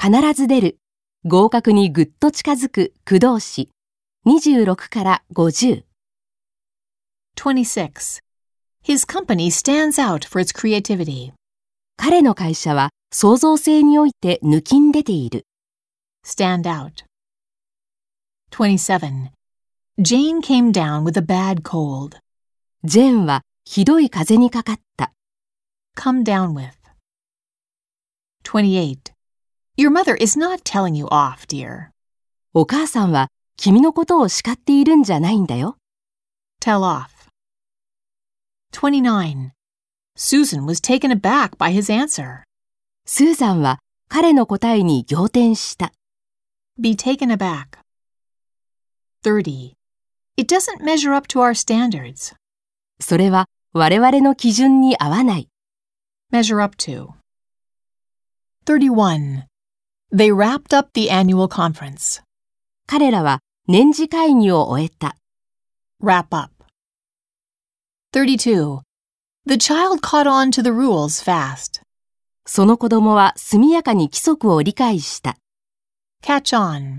必ず出る。合格にぐっと近づく駆動詞。26から50。 26. His company stands out for its creativity. 彼の会社は創造性において抜きん出ている。 Stand out. 27. Jane came down with a bad cold. ジェーンはひどい風邪にかかった。 Come down with. 28. Your mother is not telling you off, dear. お母さんは君のことを叱っているんじゃないんだよ。 Tell off. 29. Susan was taken aback by his answer. スーザンは彼の答えに仰天した。 Be taken aback. 30. It doesn't measure up to our standards. それは我々の基準に合わない。 Measure up to. 31. They wrapped up the annual conference. 彼らは年次会議を終えた。 Wrap up. 32. The child caught on to the rules fast. その子供は速やかに規則を理解した。 Catch on.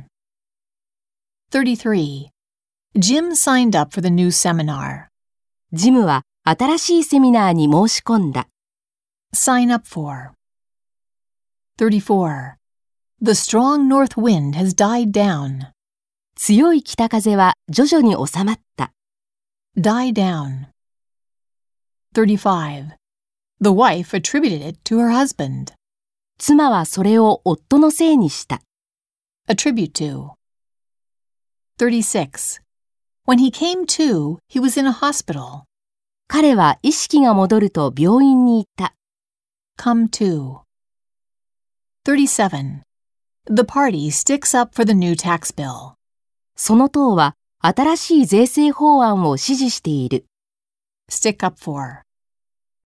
33. Jim signed up for the new seminar. ジムは新しいセミナーに申し込んだ。 Sign up for. 34. The strong north wind has died down. 強い北風は徐々に収まった。 Die down. 35. The wife attributed it to her husband. 妻はそれを夫のせいにした。 Attribute to. 36. When he came to, he was in a hospital. 彼は意識が戻ると病院に行った。 Come to. 37. The party sticks up for the new tax bill. その党は新しい税制法案を支持している。 Stick up for.